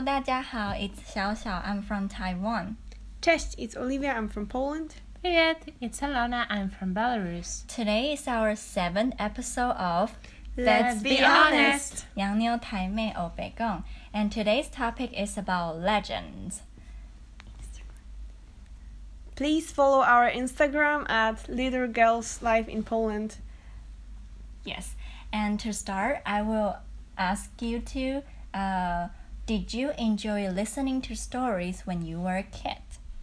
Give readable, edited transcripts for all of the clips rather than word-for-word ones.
Hello， 大家好 ，It's 小小 ，I'm from Taiwan. Cześć, it's Olivia, I'm from Poland. Привет, it's Alona, I'm from Belarus. Today is our 7th episode of Let's be honest. 洋妞台妹歐北共 and today's topic is about legends. Please follow our Instagram at Little Girls Live in Poland. Yes, and to start, I will ask you to, did you enjoy listening to stories when you were a kid?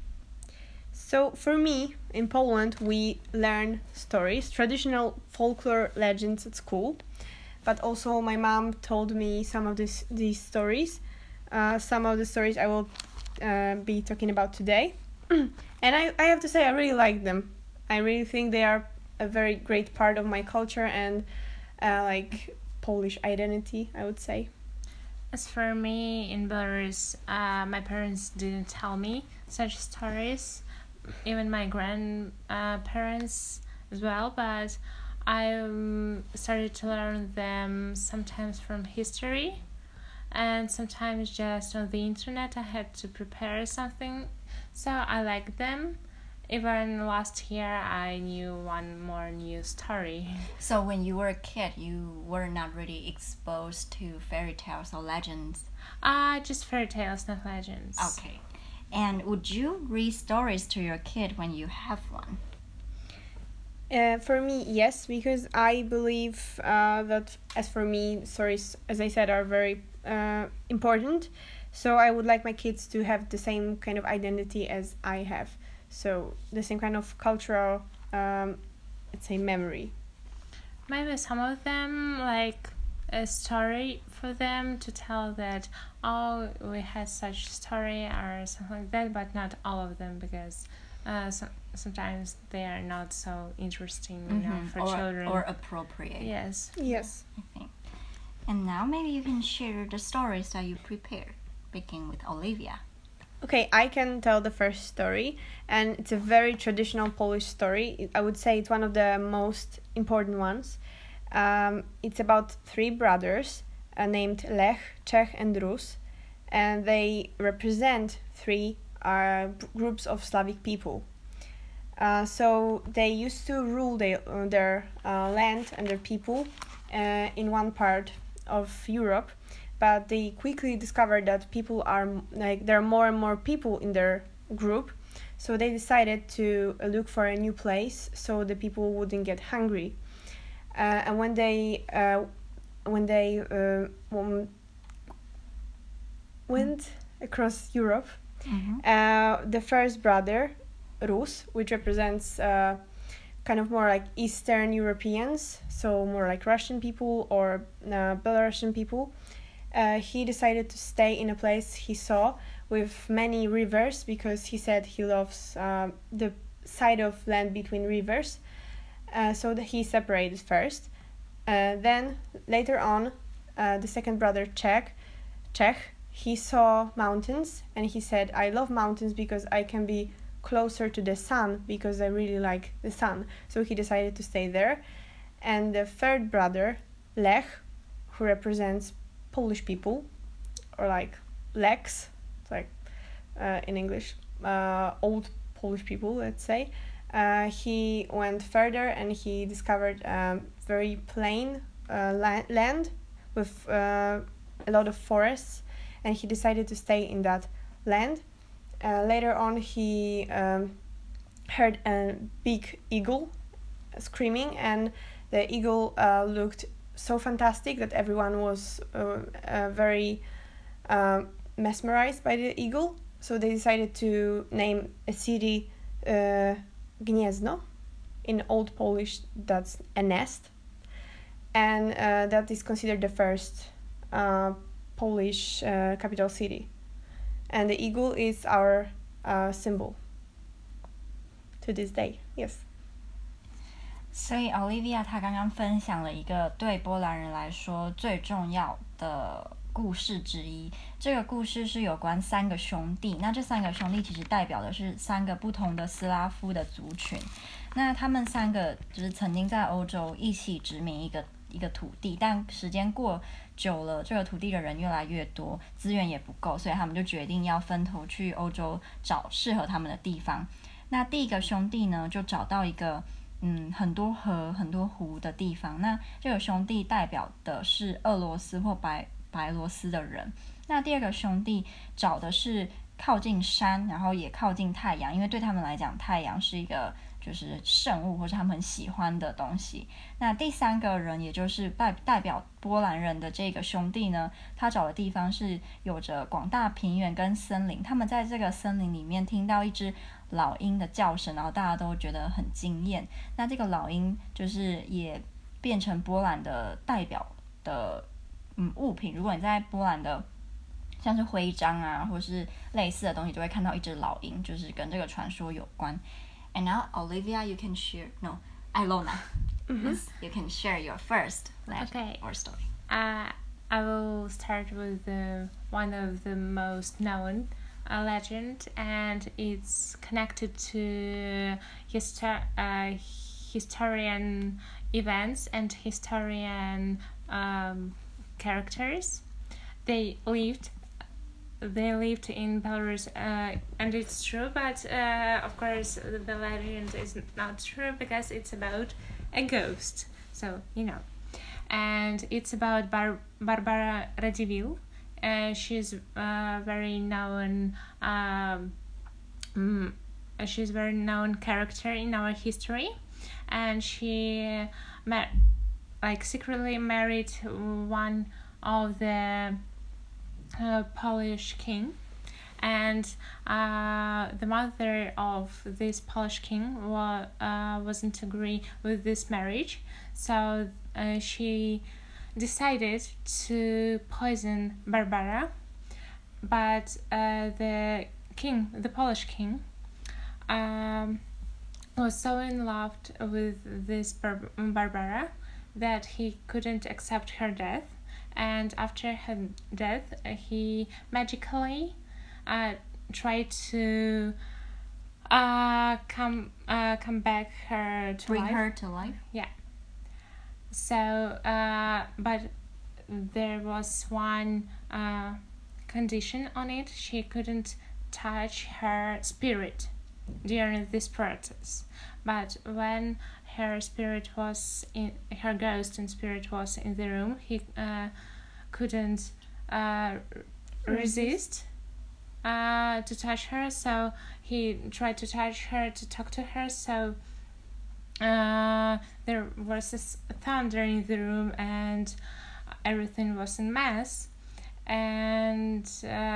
So for me, in Poland, we learn stories, traditional folklore legends at school. But also my mom told me some of these stories. Some of the stories I will be talking about today. And I have to say I really like them. I really think they are a very great part of my culture and like Polish identity, I would say. As for me, in Belarus, my parents didn't tell me such stories, even my grandparents as well, but I started to learn them sometimes from history and sometimes just on the internet. I had to prepare something, so I like them. Even last year, I knew one more new story. So when you were a kid, you were not really exposed to fairy tales or legends? Just fairy tales, not legends. Okay. And would you read stories to your kid when you have one? For me, yes, because I believe that, as for me, stories, as I said, are very important. So I would like my kids to have the same kind of identity as I have. So the same kind of cultural, let's say, memory. Maybe some of them like a story for them to tell that, oh, we had such story or something like that, but not all of them, because sometimes they are not so interesting, for children. Or appropriate. Yes. Yes. I think. And now maybe you can share the stories that you prepared, beginning with Olivia. Okay, I can tell the first story, and it's a very traditional Polish story. I would say it's one of the most important ones. It's about three brothers named Lech, Czech, and Rus, and they represent three groups of Slavic people. So they used to rule their land and their people in one part of Europe. But they quickly discovered that there are more and more people in their group, so they decided to look for a new place so the people wouldn't get hungry. And when they went across Europe, the first brother, Rus, which represents kind of more like Eastern Europeans, so more like Russian people or Belarusian people. He decided to stay in a place he saw with many rivers because he said he loves the side of land between rivers. So that he separated first. Then later on, the second brother, Czech, he saw mountains and he said, I love mountains because I can be closer to the sun because I really like the sun. So he decided to stay there. And the third brother, Lech, who represents Polish people, or like Leks, it's like in English, old Polish people, let's say. He went further and he discovered very plain land with a lot of forests, and he decided to stay in that land. Later on, he heard a big eagle screaming, and the eagle looked so fantastic that everyone was very mesmerized by the eagle. So they decided to name a city Gniezno. In Old Polish, that's a nest. And that is considered the first Polish capital city. And the eagle is our symbol to this day. Yes. 所以 Olivia 她刚刚分享了一个对波蘭人來說最重要的故事之一。這個故事是有關三個兄弟，那這三個兄弟其實代表的是三個不同的斯拉夫的族群。那他們三個就是曾經在歐洲一起殖民一一個土地，但時間過久了，這個土地的人越來越多，資源也不夠，所以他們就決定要分頭去歐洲找適合他們的地方。那第一個兄弟呢，就找到一個很多河、很多湖的地方。那這個兄弟代表的是俄羅斯或白羅斯的人。那第二個兄弟找的是靠近山，然後也靠近太陽，因為對他們來講，太陽是一個就是聖物，或是他們很喜歡的東西。那第三個人，也就是代表波蘭人的這個兄弟呢，他找的地方是有着廣大平原跟森林。他們在這個森林裡面聽到一隻老鷹的叫聲，然後大家都覺得很驚豔。那這個老鷹就是也變成波蘭的代表的物品。如果你在波蘭的像是徽章啊，或是類似的東西，就會看到一隻老鷹，就是跟這個傳說有關。And now, Olivia, you can share. No, Ilona. Yes, you can share your first legend or story. I will start with one of the most known legend, and it's connected to historian events and historian characters. They lived in Belarus, and it's true, but of course the legend is not true because it's about a ghost, so you know. And it's about Barbara Radziwiłł. She's very known. She's very known character in our history, and she secretly married one of the Polish king, and the mother of this Polish king wasn't agree with this marriage, so she decided to poison Barbara. But the Polish king, was so in love with this Barbara that he couldn't accept her death. And after her death, he magically tried to come back her to Bring life. her to life? Yeah. So, but there was one condition on it. She couldn't touch her spirit during this process. But when her ghost and spirit was in the room, he couldn't resist to touch her, so he tried to touch her, to talk to her, so there was this thunder in the room and everything was a mess. And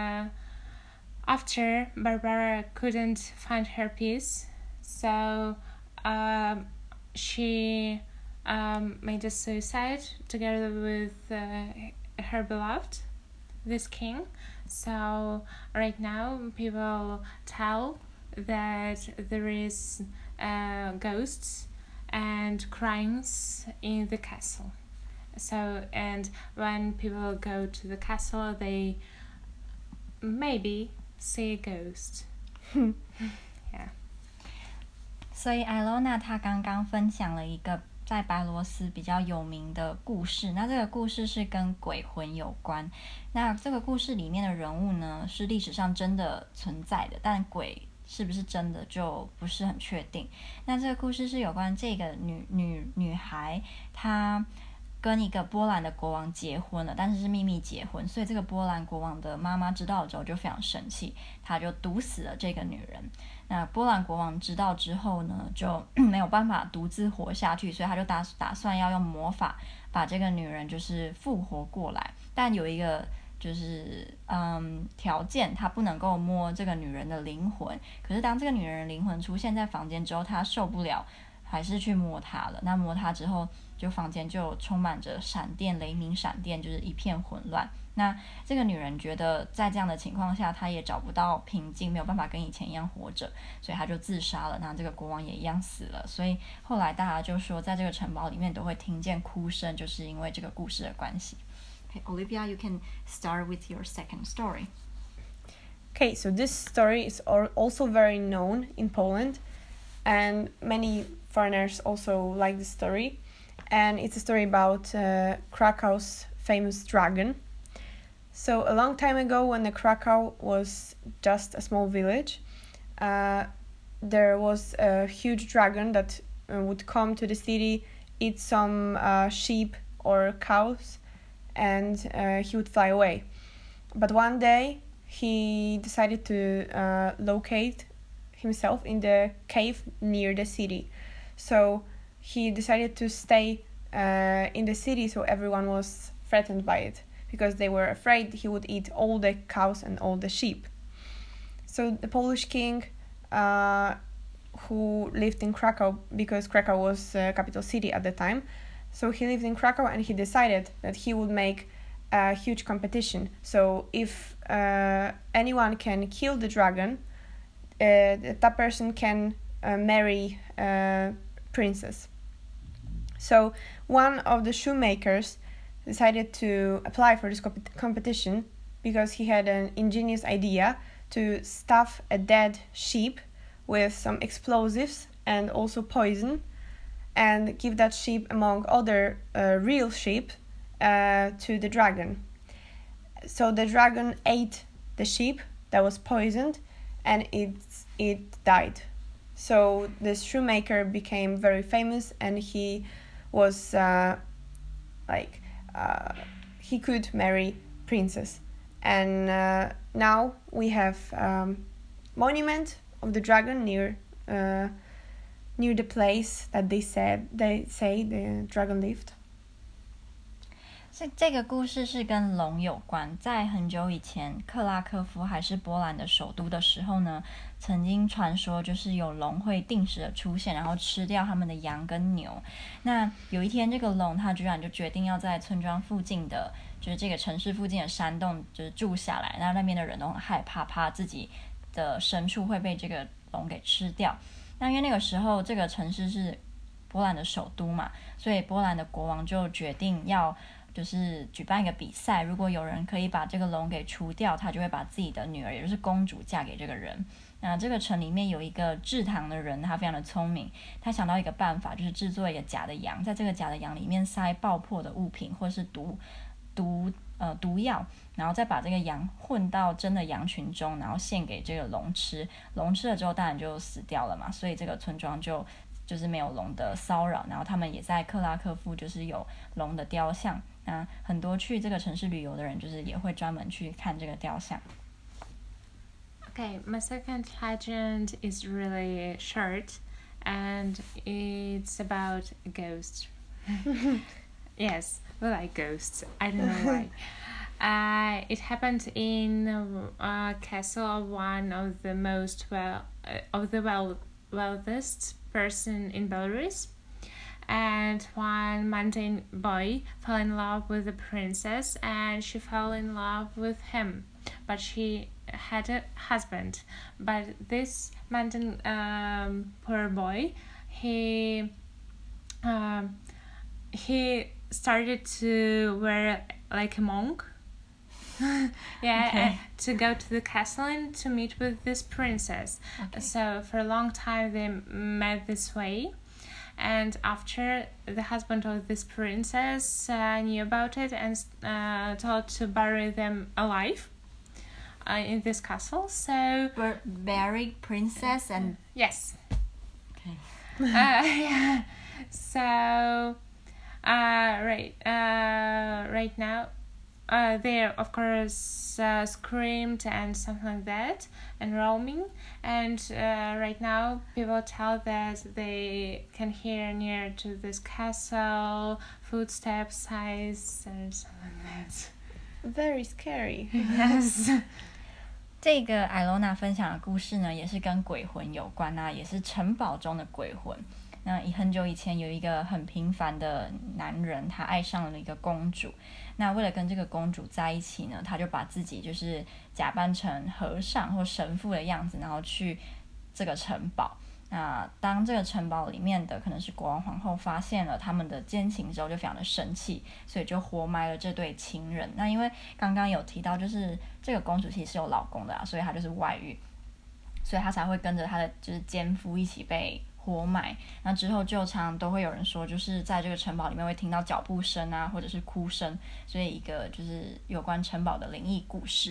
after, Barbara couldn't find her peace, so she made a suicide together with her beloved, this king. So right now people tell that there is ghosts and crimes in the castle. So, and when people go to the castle, they maybe see a ghost. Yeah. 所以艾洛娜她刚刚分享了一个在白羅斯比較有名的故事，那這個故事是跟鬼魂有關。那這個故事裡面的人物呢，是歷史上真的存在的，但鬼是不是真的就不是很確定。那這個故事是有關這個女孩，她跟一個波蘭的國王結婚了，但是是秘密結婚，所以這個波蘭國王的媽媽知道了之後就非常生氣，她就毒死了這個女人。那波蘭國王知道之後呢，就沒有辦法獨自活下去，所以他就打算要用魔法把這個女人就是復活過來，但有一個就是條件，他不能夠摸這個女人的靈魂。可是當這個女人的靈魂出現在房間之後，他受不了，還是去摸她了。那摸她之後，就房間就充滿着閃電、雷鳴閃電，就是一片混亂。那這個女人覺得在這樣的情況下，她也找不到平靜，沒有辦法跟以前一樣活着，所以她就自殺了。那這個國王也一樣死了。所以後來大家就說，在這個城堡裡面都會聽見哭聲，就是因為這個故事的關係。Okay, Olivia, you can start with your second story. Okay, so this story is also very known in Poland, and many foreigners also like the story. and it's a story about Krakow's famous dragon. So a long time ago, when the Krakow was just a small village, there was a huge dragon that would come to the city, eat some sheep or cows, and he would fly away. But one day he decided to locate himself in the cave near the city. So he decided to stay in the city, so everyone was threatened by it because they were afraid he would eat all the cows and all the sheep. So the Polish king, who lived in Krakow, because Krakow was capital city at the time, so he lived in Krakow and he decided that he would make a huge competition. So if anyone can kill the dragon, that person can marry a princess. So one of the shoemakers decided to apply for this competition because he had an ingenious idea to stuff a dead sheep with some explosives and also poison, and give that sheep among other real sheep to the dragon. So the dragon ate the sheep that was poisoned, and it died. So this shoemaker became very famous, and he was he could marry princess. And now we have monument of the dragon near the place that they say the dragon lived. 这個故事是跟龍有關。在很久以前，克拉科夫還是波蘭的首都的時候呢，曾經傳說就是有龍會定時的出現，然後吃掉他們的羊跟牛。那有一天，這個龍它居然就決定要在村莊附近的，就是這個城市附近的山洞就是住下來。那邊的人都很害怕，怕自己的牲畜會被這個龍給吃掉。那因為那個時候這個城市是波蘭的首都嘛，所以波蘭的國王就決定要就是舉辦一個比賽，如果有人可以把這個龍給除掉，他就會把自己的女兒，也就是公主嫁給這個人。那這個城裡面有一個製糖的人，他非常的聰明，他想到一個辦法，就是製作一個假的羊，在這個假的羊裡面塞爆破的物品或是毒藥，然後再把這個羊混到真的羊群中，然後獻給這個龍吃。龍吃了之後當然就死掉了嘛，所以這個村莊就是沒有龍的騷擾，然後他們也在克拉科夫就是有龍的雕像。那很多去這個城市旅遊的人就是也會專門去看這個雕像。 Okay, my second legend is really short, and it's about a ghost. Yes, we like ghosts. I don't know why. It happened in a castle of one of the wealthiest person in Belarus. And one mundane boy fell in love with the princess, and she fell in love with him. But she had a husband. But this mundane poor boy, he started to wear like a monk. Okay. To go to the castle and to meet with this princess. Okay. So for a long time they met this way. And after the husband of this princess knew about it and told to bury them alive in this castle. So bury princess and yes. Okay. Yeah. So right now. They of course screamed and something like that and roaming, and right now people tell that they can hear near to this castle footsteps, sighs, and something like that. Very scary. Yes. 這個艾羅娜分享的故事呢，也是跟鬼魂有關啊，也是城堡中的鬼魂。那很久以前有一個很平凡的男人，他愛上了一個公主。那為了跟這個公主在一起呢，他就把自己就是假扮成和尚或神父的樣子，然後去這個城堡。那當這個城堡裡面的可能是國王皇后發現了他們的奸情之後，就非常的生氣，所以就活埋了這對情人。那因為剛剛有提到，就是這個公主其實是有老公的啊，所以她就是外遇，所以她才會跟着她的就是奸夫一起被活埋。那之後就常都會有人說，就是在這個城堡裡面會聽到腳步聲啊，或者是哭聲，所以一個就是有關城堡的靈異故事。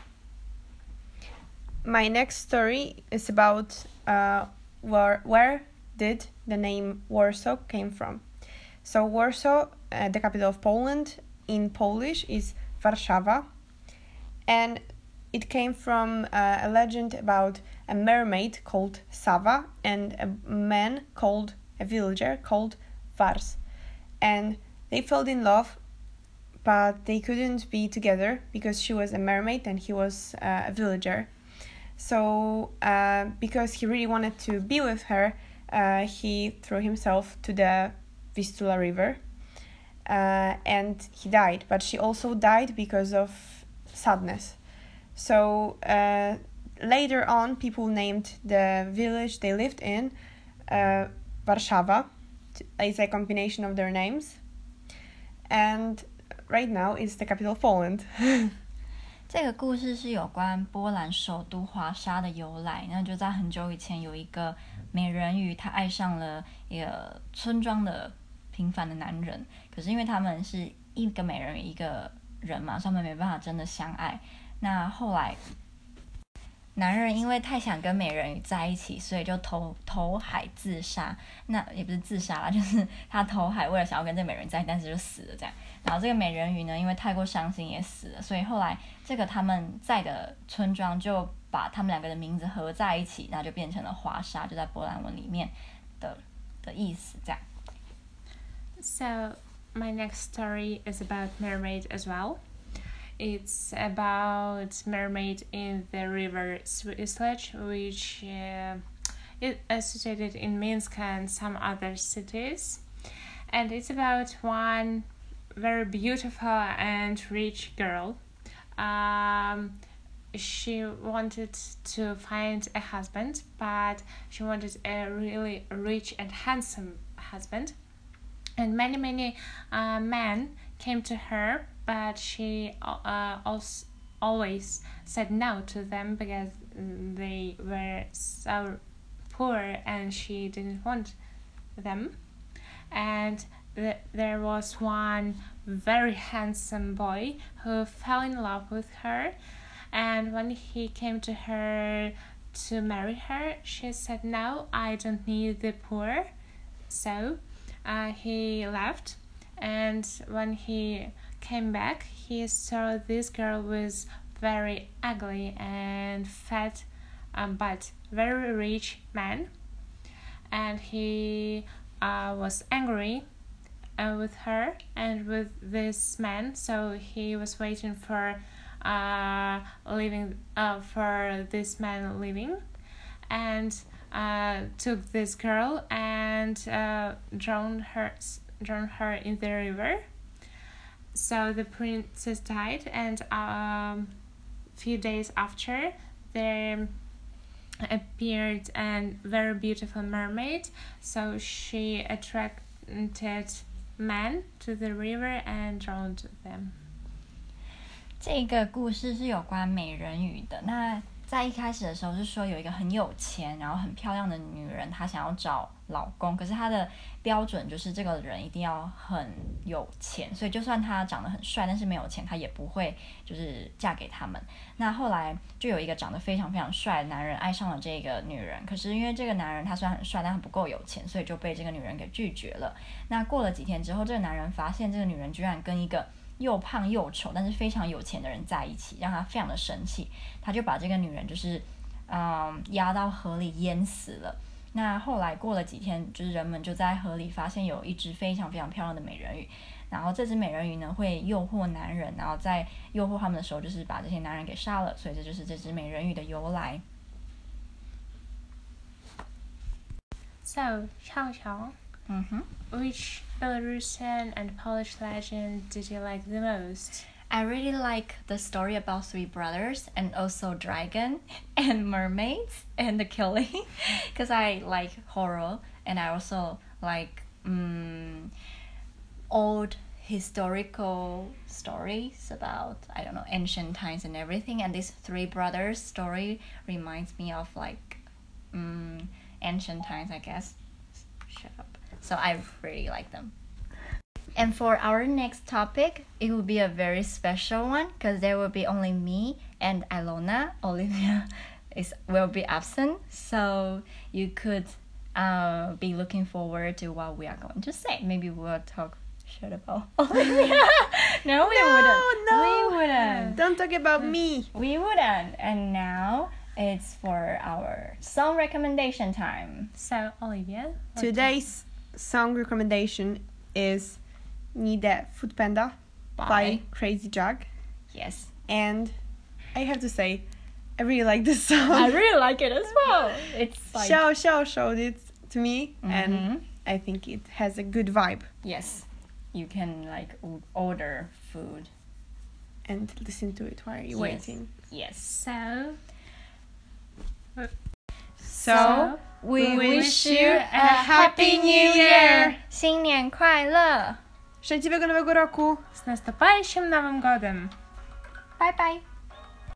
My next story is about where did the name Warsaw came from. So Warsaw, the capital of Poland, in Polish is Warszawa, and it came from a legend about a mermaid called Sava and a villager called Vars, and they fell in love, but they couldn't be together because she was a mermaid and he was a villager. So because he really wanted to be with her, he threw himself to the Vistula River, and he died. But she also died because of sadness. So later on, people named the village they lived in Warszawa. It's a combination of their names. And right now, it's the capital of Poland. 這個故事是有關波蘭首都華沙的由來。那就在很久以前，有一個美人魚，她愛上了一個村莊的平凡的男人。可是因為他們是一個美人魚一個人嘛，所以他們沒辦法真的相愛。那後來，男人因為太想跟美人魚在一起，所以就投海自殺。那也不是自殺啦，就是他投海，為了想要跟這個美人魚在一起，但是就死了這樣。然後這個美人魚呢，因為太過傷心也死了，所以後來這個他們在的村莊就把他們兩個的名字合在一起，然後就變成了華沙，就在波蘭文裡面的意思這樣。 So my next story is about mermaid as well. It's about mermaid in the river Swislech, which is associated in Minsk and some other cities. And it's about one very beautiful and rich girl. She wanted to find a husband, but she wanted a really rich and handsome husband. And many men came to her, but she always said no to them because they were so poor and she didn't want them. And there was one very handsome boy who fell in love with her, and when he came to her to marry her, she said, "No, I don't need the poor." So he left, and when he came back, he saw this girl was very ugly and fat, but very rich man, and he was angry with her and with this man, so he was waiting for this man leaving, and took this girl and drowned her in the river. So the princess died, and few days after, there appeared a very beautiful mermaid. So she attracted men to the river and drowned them. 這個故事是有關美人魚的。那在一開始的時候是說有一個很有錢然後很漂亮的女人，她想要找老公，可是她的標準就是這個人一定要很有錢，所以就算他長得很帥，但是沒有錢，他也不會就是嫁給他們。那後來就有一個長得非常非常帥的男人愛上了這個女人，可是因為這個男人他雖然很帥，但他不夠有錢，所以就被這個女人給拒絕了。那過了幾天之後，這個男人發現這個女人居然跟一個又胖又醜但是非常有錢的人在一起，讓他非常的生氣，他就把這個女人就是壓到河裡淹死了。那後來過了幾天，就是人們就在河裡發現有一隻非常非常漂亮的美人魚，然後這隻美人魚呢會誘惑男人，然後在誘惑他們的時候就是把這些男人給殺了，所以這就是這隻美人魚的由來。 So, Xiao, which Belarusian and Polish legend did you like the most? I really like the story about three brothers and also dragon and mermaids and the killing because I like horror and I also like old historical stories about, I don't know, ancient times and everything, and this three brothers story reminds me of like ancient times, I guess. shut up. So I really like them. And for our next topic, it will be a very special one because there will be only me and Ilona. Olivia will be absent, so you could be looking forward to what we are going to say. Maybe we'll talk shit about Olivia. No, we wouldn't. Don't talk about me. We wouldn't. And now it's for our song recommendation time. So, Olivia, Today's song recommendation is Need a Foodpanda by Crazy Jug. Yes. And I have to say, I really like this song. I really like it as well. It's like... showed it to me, and I think it has a good vibe. Yes. You can like order food and listen to it while you're waiting. Yes. So we wish you a happy new year. 新年快乐. Szczęśliwego Nowego Roku. Z наступающим Новым годом. Bye bye.